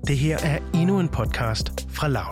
Det her er endnu en podcast fra Loud.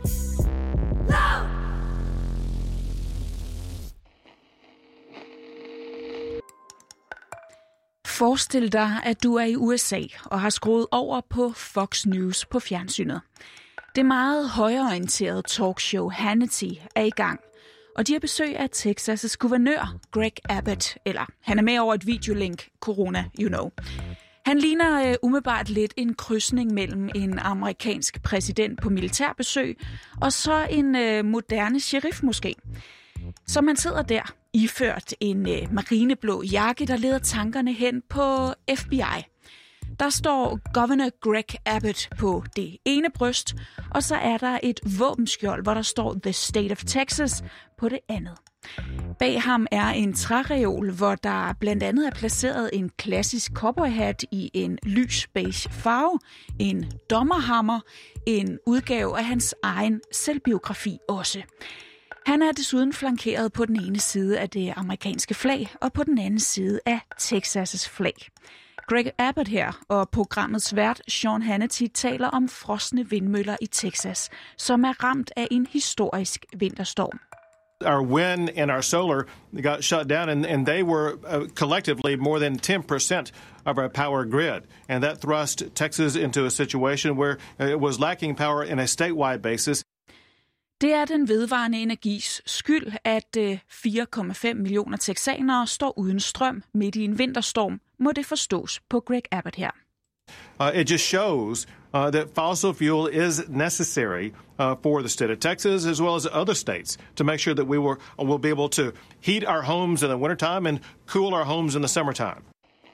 Forestil dig, at du er i USA og har skruet over på Fox News på fjernsynet. Det meget højreorienterede talkshow Hannity er i gang, og de har besøg af Texas' guvernør Greg Abbott, eller han er med over et videolink, corona, you know. Han ligner umiddelbart lidt en krydsning mellem en amerikansk præsident på militærbesøg og så en moderne sheriff måske. Så man sidder der, iført en marineblå jakke, der leder tankerne hen på FBI. Der står Governor Greg Abbott på det ene bryst, og så er der et våbenskjold, hvor der står The State of Texas på det andet. Bag ham er en træreol, hvor der blandt andet er placeret en klassisk cowboyhat i en lys beige farve, en dommerhammer, en udgave af hans egen selvbiografi også. Han er desuden flankeret på den ene side af det amerikanske flag og på den anden side af Texas' flag. Greg Abbott her og programmets vært Sean Hannity taler om frosne vindmøller i Texas, som er ramt af en historisk vinterstorm. Our wind and our solar got shut down, and they were collectively more than 10% of our power grid. And that thrust Texas into a situation where it was lacking power in a statewide basis. Det er den vedvarende energis skyld, at 4,5 millioner texanere står uden strøm midt i en vinterstorm, må det forstås på Greg Abbott her. It just shows that fossil fuel is necessary for the state of Texas as well as other states to make sure that we will be able to heat our homes in the wintertime and cool our homes in the summertime.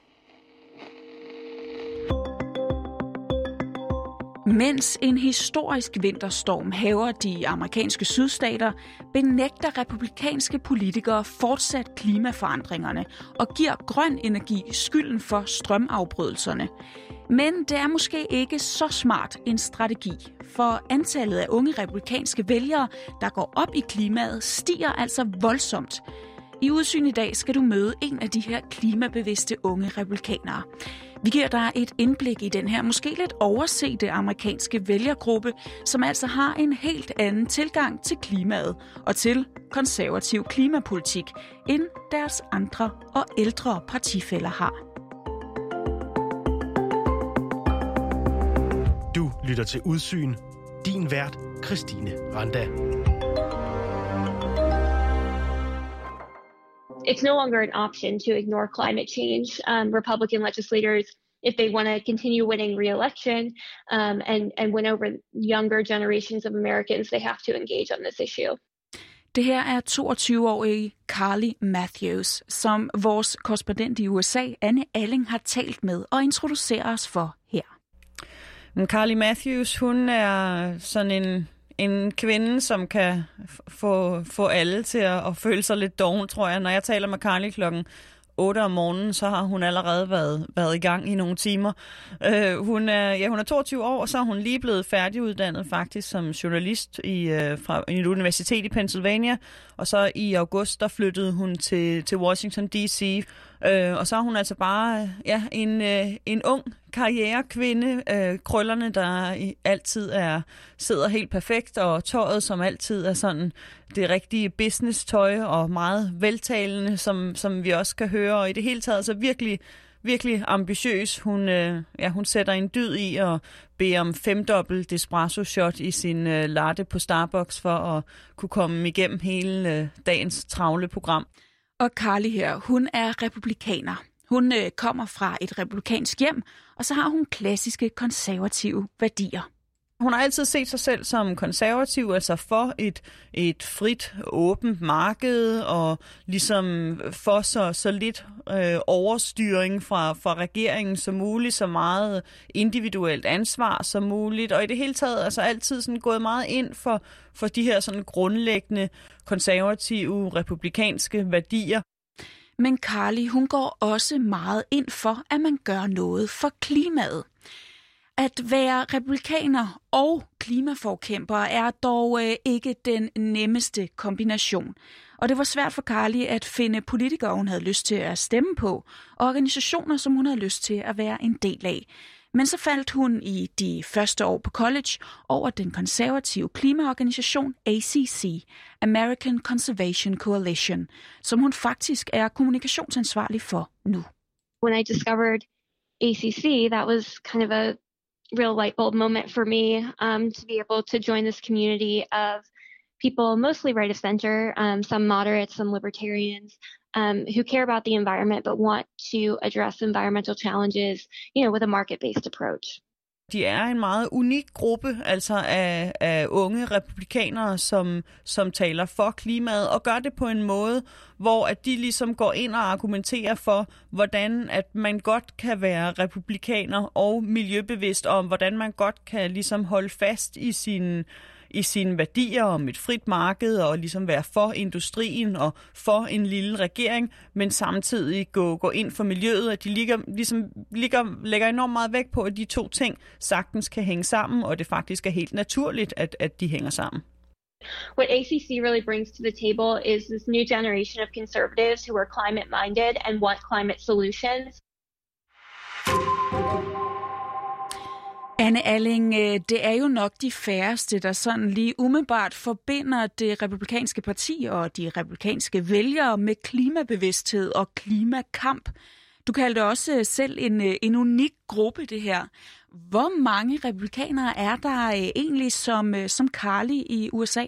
Mens en historisk vinterstorm hærger de amerikanske sydstater, benægter republikanske politikere fortsat klimaforandringerne og giver grøn energi skylden for strømafbrydelserne. Men det er måske ikke så smart en strategi, for antallet af unge republikanske vælgere, der går op i klimaet, stiger altså voldsomt. I Udsyn i dag skal du møde en af de her klimabevidste unge republikanere. Vi giver dig et indblik i den her måske lidt oversete amerikanske vælgergruppe, som altså har en helt anden tilgang til klimaet og til konservativ klimapolitik, end deres andre og ældre partifæller har. Du lytter til Udsyn. Din vært, Christine Randa. It's no longer an option to ignore climate change. Republican legislators, if they want to continue winning re-election and win over younger generations of Americans, they have to engage on this issue. Det her er 22-årige Carly Matthews, som vores korrespondent i USA, Anne Alling, har talt med og introducerer os for her. Carly Matthews, hun er sådan en kvinde, som kan få alle til at føle sig lidt doven, tror jeg. Når jeg taler med Carly klokken 8 om morgenen, så har hun allerede været i gang i nogle timer. Hun er 22 år, og så er hun lige blevet færdiguddannet faktisk som journalist fra et universitet i Pennsylvania. Og så i august, der flyttede hun til Washington D.C., og så er hun altså bare en ung karrierekvinde, krøllerne, der altid sidder helt perfekt, og tøjet, som altid er sådan det rigtige business-tøj, og meget veltalende, som vi også kan høre, og i det hele taget så virkelig, virkelig ambitiøs. Hun sætter en dyd i at bede om 5-dobbelt espresso shot i sin latte på Starbucks, for at kunne komme igennem hele dagens travle program. Og Carly her, hun er republikaner. Hun kommer fra et republikansk hjem, og så har hun klassiske konservative værdier. Hun har altid set sig selv som konservativ, altså for et frit, åbent marked, og ligesom for så lidt overstyring fra regeringen som muligt, så meget individuelt ansvar som muligt, og i det hele taget altså altid sådan gået meget ind for de her sådan grundlæggende konservative, republikanske værdier. Men Carly, hun går også meget ind for, at man gør noget for klimaet. At være republikaner og klimaforkæmper er dog ikke den nemmeste kombination. Og det var svært for Carly at finde politikere, hun havde lyst til at stemme på, og organisationer, som hun havde lyst til at være en del af. Men så faldt hun i de første år på college over den konservative klimaorganisation ACC, American Conservation Coalition, som hun faktisk er kommunikationsansvarlig for nu. When I discovered ACC, that was kind of a real light bulb moment for me to be able to join this community of people, mostly right of center, some moderates, some libertarians, who care about the environment but want to address environmental challenges, with a market-based approach. De er en meget unik gruppe, altså af unge republikanere, som taler for klimaet, og gør det på en måde, hvor at de ligesom går ind og argumenterer for, hvordan at man godt kan være republikaner og miljøbevidst om, hvordan man godt kan ligesom holde fast i sine værdier om et frit marked og ligesom være for industrien og for en lille regering, men samtidig gå ind for miljøet, at de lægger enormt meget vægt på, at de to ting sagtens kan hænge sammen, og det faktisk er helt naturligt, at de hænger sammen. What ACC really brings to the table is this new generation of conservatives who are climate-minded and want climate solutions. Anne Alling, det er jo nok de færreste, der sådan lige umiddelbart forbinder det republikanske parti og de republikanske vælgere med klimabevidsthed og klimakamp. Du kaldte også selv en unik gruppe, det her. Hvor mange republikanere er der egentlig som Carly i USA?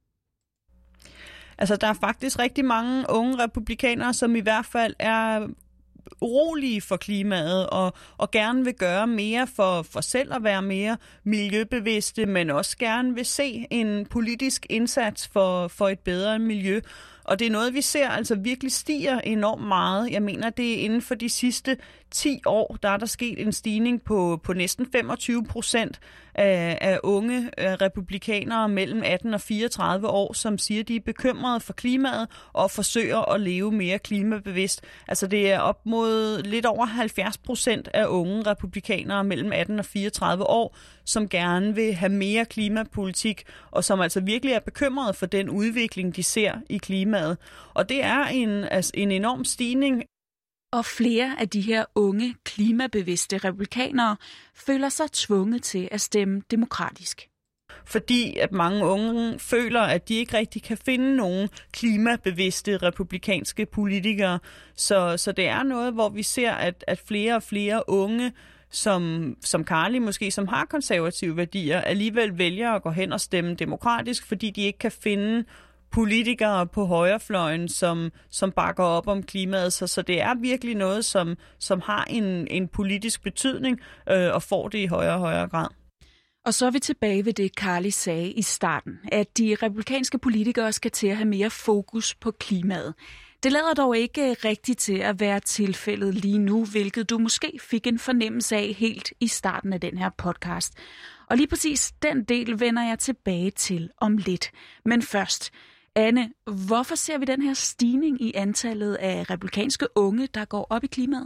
Altså, der er faktisk rigtig mange unge republikanere, som i hvert fald er urolige for klimaet og gerne vil gøre mere for selv at være mere miljøbevidste, men også gerne vil se en politisk indsats for et bedre miljø. Og det er noget, vi ser altså virkelig stiger enormt meget. Jeg mener, det er inden for de sidste 10 år, der er der sket en stigning på næsten 25% af unge republikanere mellem 18 og 34 år, som siger, de er bekymrede for klimaet og forsøger at leve mere klimabevidst. Altså det er op mod lidt over 70% af unge republikanere mellem 18 og 34 år, som gerne vil have mere klimapolitik, og som altså virkelig er bekymrede for den udvikling, de ser i klimaet. Og det er en enorm stigning. Og flere af de her unge, klimabevidste republikanere føler sig tvunget til at stemme demokratisk. Fordi at mange unge føler, at de ikke rigtig kan finde nogen klimabevidste republikanske politikere. Så det er noget, hvor vi ser, at flere og flere unge, som Carly måske, som har konservative værdier, alligevel vælger at gå hen og stemme demokratisk, fordi de ikke kan finde politikere på højrefløjen, som bakker op om klimaet. Så det er virkelig noget, som har en politisk betydning og får det i højere og højere grad. Og så er vi tilbage ved det, Carly sagde i starten, at de republikanske politikere skal til at have mere fokus på klimaet. Det lader dog ikke rigtigt til at være tilfældet lige nu, hvilket du måske fik en fornemmelse af helt i starten af den her podcast. Og lige præcis den del vender jeg tilbage til om lidt. Men først, Anne, hvorfor ser vi den her stigning i antallet af republikanske unge, der går op i klimaet?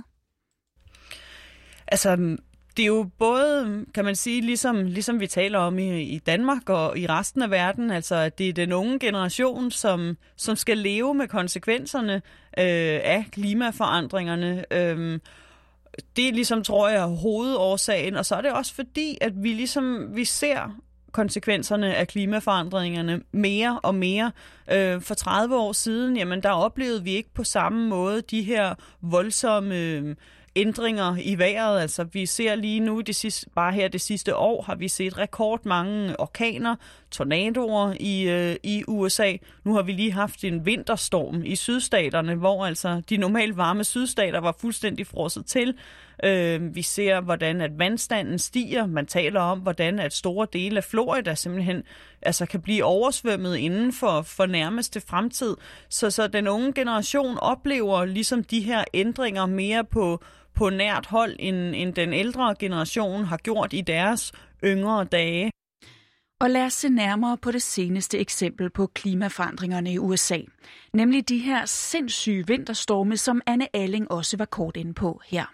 Altså, det er jo både, kan man sige, ligesom vi taler om i Danmark og i resten af verden, altså at det er den unge generation, som skal leve med konsekvenserne af klimaforandringerne. Det er ligesom, tror jeg, hovedårsagen, og så er det også fordi, at vi ser konsekvenserne af klimaforandringerne mere og mere. For 30 år siden, jamen der oplevede vi ikke på samme måde de her voldsomme ændringer i vejret. Altså vi ser lige nu, det sidste år, har vi set rekordmange orkaner, tornadoer i USA. Nu har vi lige haft en vinterstorm i sydstaterne, hvor altså de normalt varme sydstater var fuldstændig frosset til. Vi ser, hvordan at vandstanden stiger. Man taler om, hvordan at store dele af Florida simpelthen kan blive oversvømmet inden for nærmeste fremtid. Så den unge generation oplever ligesom de her ændringer mere på nært hold, end den ældre generation har gjort i deres yngre dage. Og lad os se nærmere på det seneste eksempel på klimaforandringerne i USA. Nemlig de her sindssyge vinterstorme, som Anne Alling også var kort inde på her.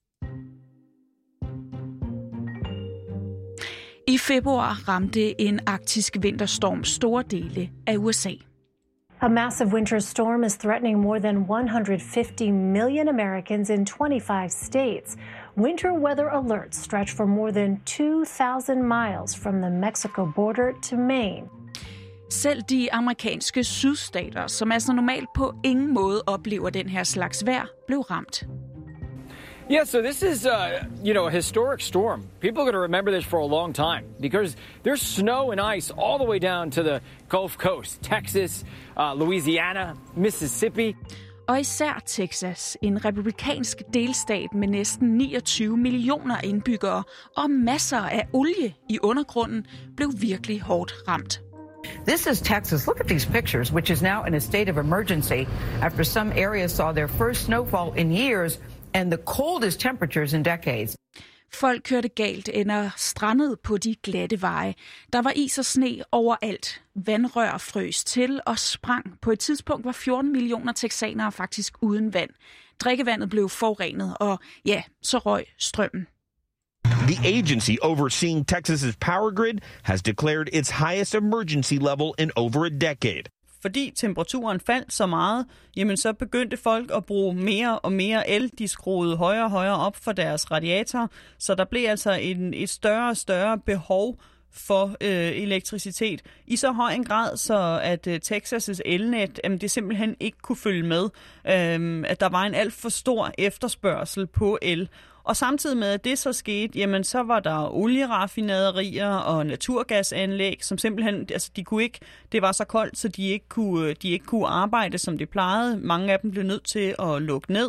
I februar ramte en arktisk vinterstorm store dele af USA. A massive winter storm is threatening more than 150 million Americans in 25 states. Winter weather alerts stretch for more than 2,000 miles from the Mexico border to Maine. Selv de amerikanske sydstater, som altså normalt på ingen måde oplever den her slags vejr, blev ramt. Yeah, so this is, a historic storm. People are going to remember this for a long time because there's snow and ice all the way down to the Gulf Coast, Texas, Louisiana, Mississippi. Og især Texas, en republikansk delstat med næsten 29 millioner indbyggere og masser af olie i undergrunden, blev virkelig hårdt ramt. This is Texas. Look at these pictures, which is now in a state of emergency after some areas saw their first snowfall in years and the coldest temperatures in decades. Folk kørte galt eller strandede på de glatte veje. Der var is og sne overalt. Vandrør frøs til og sprang. På et tidspunkt var 14 millioner texanere faktisk uden vand. Drikkevandet blev forurenet, og ja, så røg strømmen. The agency overseeing Texas's power grid has declared its highest emergency level in over a decade. Fordi temperaturen faldt så meget, jamen så begyndte folk at bruge mere og mere el. De skruede højere og højere op for deres radiator, så der blev altså et større og større behov for elektricitet i så høj en grad, så at Texas' elnet det simpelthen ikke kunne følge med. At der var en alt for stor efterspørgsel på el. Og samtidig med, at det så skete, jamen så var der olieraffinaderier og naturgasanlæg, som simpelthen, altså de kunne ikke, det var så koldt, så de ikke kunne arbejde, som de plejede. Mange af dem blev nødt til at lukke ned.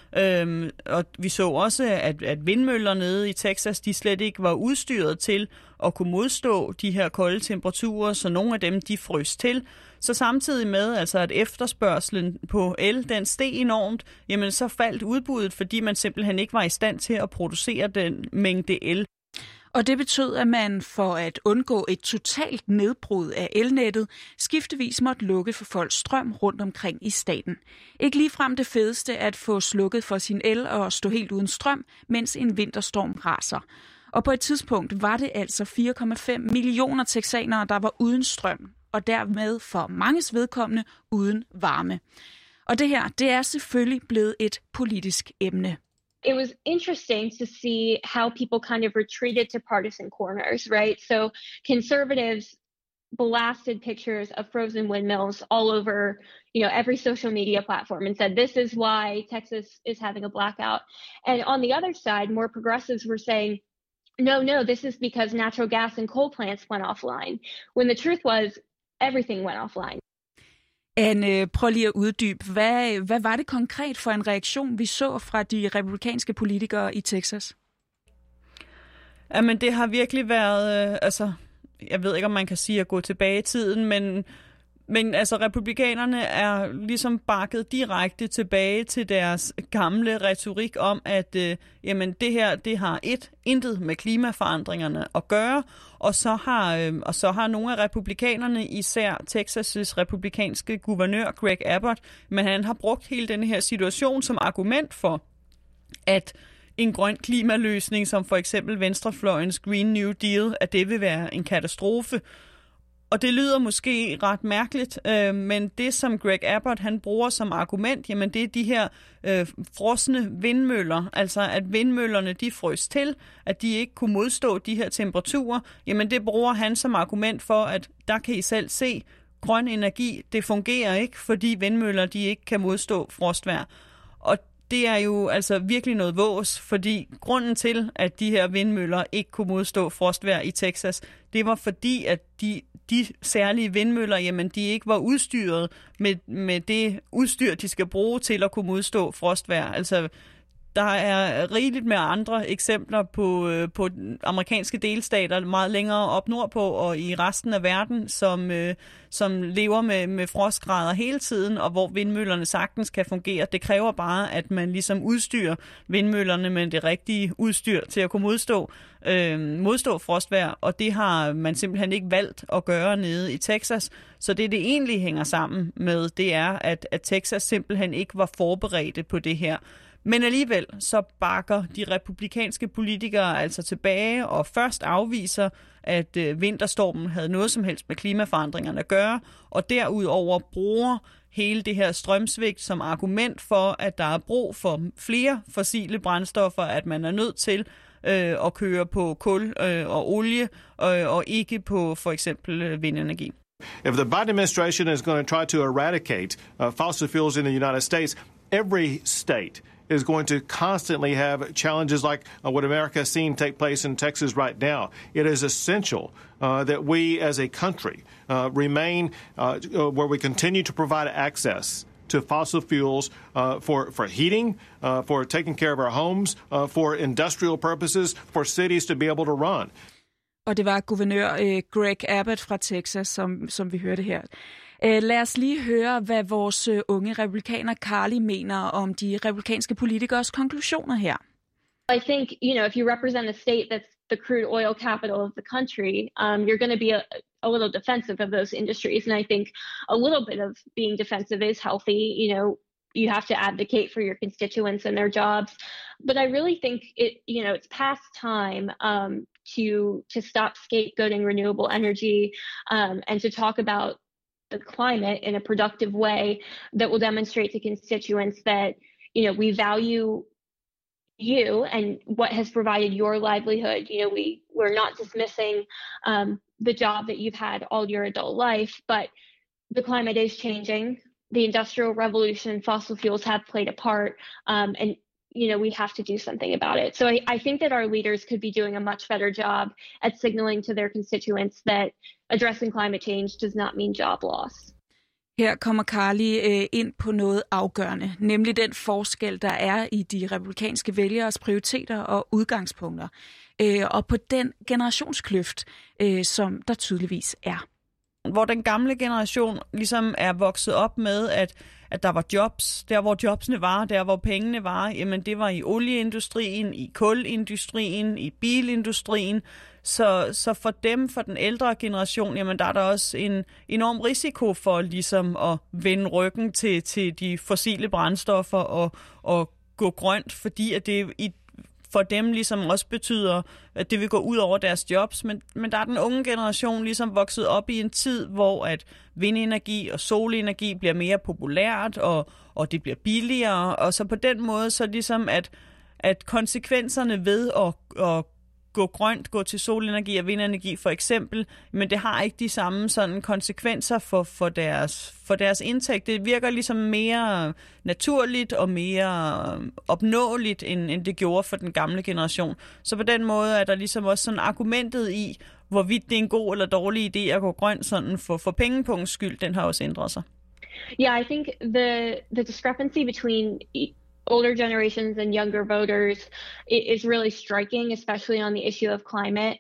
Og vi så også, at vindmøller nede i Texas, de slet ikke var udstyret til at kunne modstå de her kolde temperaturer, så nogle af dem, de frøs til. Så samtidig med, altså at efterspørgselen på el, den steg enormt, jamen så faldt udbuddet, fordi man simpelthen ikke var i stand til at producere den mængde el. Og det betød, at man for at undgå et totalt nedbrud af elnettet, skiftevis måtte lukke for folks strøm rundt omkring i staten. Ikke ligefrem det fedeste at få slukket for sin el og stå helt uden strøm, mens en vinterstorm raser. Og på et tidspunkt var det altså 4,5 millioner texanere, der var uden strøm, og dermed for manges vedkommende uden varme. Og det her, det er selvfølgelig blevet et politisk emne. It was interesting to see how people kind of retreated to partisan corners, right? So conservatives blasted pictures of frozen windmills all over, every social media platform and said, this is why Texas is having a blackout. And on the other side, more progressives were saying, no, this is because natural gas and coal plants went offline. When the truth was, everything went offline. Anne, prøv lige at uddybe. Hvad var det konkret for en reaktion, vi så fra de republikanske politikere i Texas? Jamen, det har virkelig været, jeg ved ikke, om man kan sige at gå tilbage i tiden, men altså, republikanerne er ligesom bakket direkte tilbage til deres gamle retorik om, at jamen, det her, det har intet med klimaforandringerne at gøre, og så har nogle af republikanerne, især Texas' republikanske guvernør Greg Abbott, men han har brugt hele den her situation som argument for, at en grøn klimaløsning, som for eksempel venstrefløjens Green New Deal, at det vil være en katastrofe. Og det lyder måske ret mærkeligt, men det, som Greg Abbott han bruger som argument, jamen det er de her frosne vindmøller, altså at vindmøllerne de frøs til, at de ikke kunne modstå de her temperaturer, jamen det bruger han som argument for, at der kan I selv se, grøn energi, det fungerer ikke, fordi vindmøller de ikke kan modstå frostvejr. Og det er jo altså virkelig noget vås, fordi grunden til, at de her vindmøller ikke kunne modstå frostvejr i Texas, det var fordi, at de særlige vindmøller, jamen de ikke var udstyret med det udstyr, de skal bruge til at kunne modstå frostvejr. Altså, der er rigeligt med andre eksempler på amerikanske delstater meget længere op nordpå og i resten af verden, som lever med frostgrader hele tiden, og hvor vindmøllerne sagtens kan fungere. Det kræver bare, at man ligesom udstyrer vindmøllerne med det rigtige udstyr til at kunne modstå frostvejr, og det har man simpelthen ikke valgt at gøre nede i Texas. Så det egentlig hænger sammen med, det er, at Texas simpelthen ikke var forberedte på det her. Men alligevel så bakker de republikanske politikere altså tilbage og først afviser, at vinterstormen havde noget som helst med klimaforandringerne at gøre, og derudover bruger hele det her strømsvigt som argument for, at der er brug for flere fossile brændstoffer, at man er nødt til at køre på kul og olie og ikke på for eksempel vindenergi. If the Biden administration is going to try to eradicate fossil fuels in the United States, every state is going to constantly have challenges like what America has seen take place in Texas right now. It is essential that we as a country remain where we continue to provide access to fossil fuels for heating, for taking care of our homes, for industrial purposes, for cities to be able to run. Og det var guvernør Greg Abbott fra Texas, som vi hørte her. Lad os lige høre, hvad vores unge republikaner Carly mener om de republikanske politikers konklusioner her. I think, if you represent a state that's the crude oil capital of the country, you're going to be a little defensive of those industries. And I think a little bit of being defensive is healthy. You have to advocate for your constituents and their jobs. But I really think it's past time to stop scapegoating renewable energy and to talk about the climate in a productive way that will demonstrate to constituents that, we value you and what has provided your livelihood. We're not dismissing the job that you've had all your adult life, but the climate is changing. The Industrial Revolution and fossil fuels have played a part, and we have to do something about it. So I think that our leaders could be doing a much better job at signaling to their constituents that addressing climate change does not mean job loss. Her kommer Carly ind på noget afgørende, nemlig den forskel, der er i de republikanske vælgeres prioriteter og udgangspunkter, og på den generationskløft, som der tydeligvis er. Hvor den gamle generation ligesom er vokset op med, at der var jobs, der hvor jobsene var, der hvor pengene var, jamen det var i olieindustrien, i kulindustrien, i bilindustrien. Så for dem, for den ældre generation, jamen der er der også en enorm risiko for ligesom at vende ryggen til de fossile brændstoffer og gå grønt, fordi at det for dem ligesom også betyder, at det vil gå ud over deres jobs. Men der er den unge generation ligesom vokset op i en tid, hvor at vindenergi og solenergi bliver mere populært, og det bliver billigere. Og så på den måde, så ligesom at konsekvenserne ved at gå grønt, gå til solenergi og vindenergi for eksempel, men det har ikke de samme sådan konsekvenser for deres indtægt. Det virker ligesom mere naturligt og mere opnåeligt, end det gjorde for den gamle generation. Så på den måde er der ligesom også sådan argumentet i, hvorvidt det er en god eller dårlig idé at gå grønt sådan for pengepunktens skyld, den har også ændret sig. Yeah, I think the discrepancy between older generations and younger voters is really striking, especially on the issue of climate.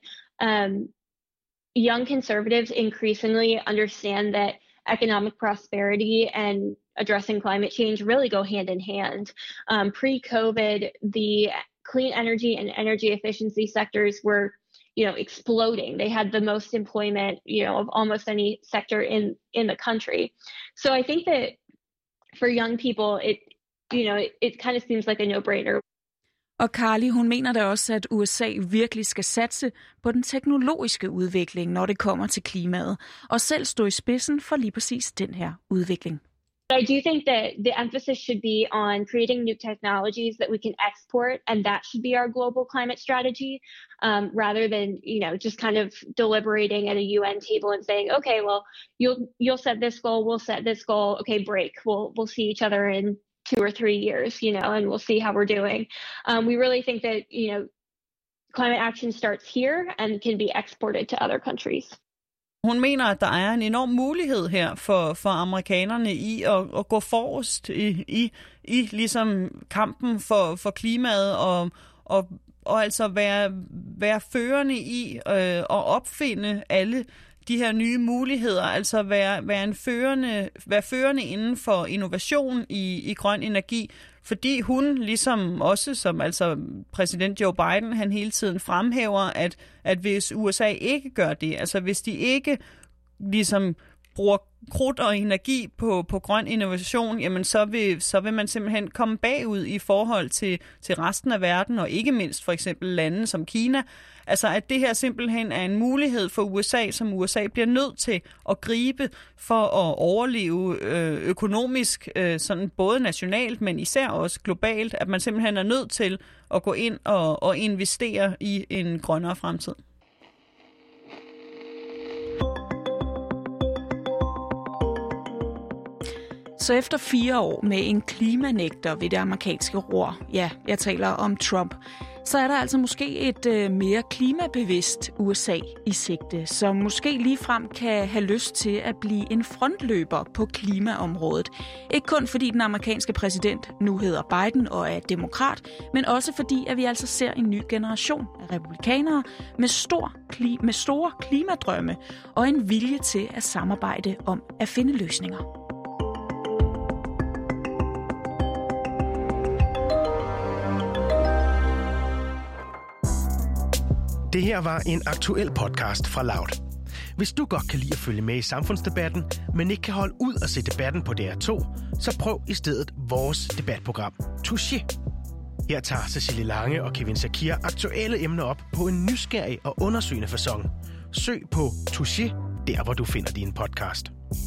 Young conservatives increasingly understand that economic prosperity and addressing climate change really go hand in hand. Pre-COVID, the clean energy and energy efficiency sectors were, exploding. They had the most employment, of almost any sector in the country. So I think that for young people, it kind of seems like a no-brainer. Og Carly, hun mener da også, at USA virkelig skal satse på den teknologiske udvikling, når det kommer til klimaet, og selv stå i spidsen for lige præcis den her udvikling. I do think that the emphasis should be on creating new technologies that we can export, and that should be our global climate strategy, rather than just kind of deliberating at a UN table and saying, okay, well, you'll set this goal, we'll set this goal, okay, break, we'll see each other in 2 or 3 years, and we'll see how we're doing. We really think that climate action starts here and can be exported to other countries. Hun mener, at der er en enorm mulighed her for amerikanerne i at gå forrest i ligesom kampen for klimaet og altså være førende i at opfinde alle de her nye muligheder, altså være førende inden for innovation i grøn energi, fordi hun ligesom også, som altså præsident Joe Biden, han hele tiden fremhæver, at hvis USA ikke gør det, altså hvis de ikke ligesom bruger krudt og energi på grøn innovation, jamen så vil man simpelthen komme bagud i forhold til resten af verden, og ikke mindst for eksempel lande som Kina. Altså at det her simpelthen er en mulighed for USA, som USA bliver nødt til at gribe for at overleve økonomisk, sådan både nationalt, men især også globalt, at man simpelthen er nødt til at gå ind og investere i en grønnere fremtid. Så efter 4 år med en klimanægter ved det amerikanske ror, ja, jeg taler om Trump, så er der altså måske et mere klimabevidst USA i sigte, som måske ligefrem kan have lyst til at blive en frontløber på klimaområdet. Ikke kun fordi den amerikanske præsident nu hedder Biden og er demokrat, men også fordi at vi altså ser en ny generation af republikanere med store klimadrømme og en vilje til at samarbejde om at finde løsninger. Det her var en aktuel podcast fra Loud. Hvis du godt kan lide at følge med i samfundsdebatten, men ikke kan holde ud at se debatten på DR2, så prøv i stedet vores debatprogram, Touché. Her tager Cecilie Lange og Kevin Shakir aktuelle emner op på en nysgerrig og undersøgende facon. Søg på Touché, der hvor du finder din podcast.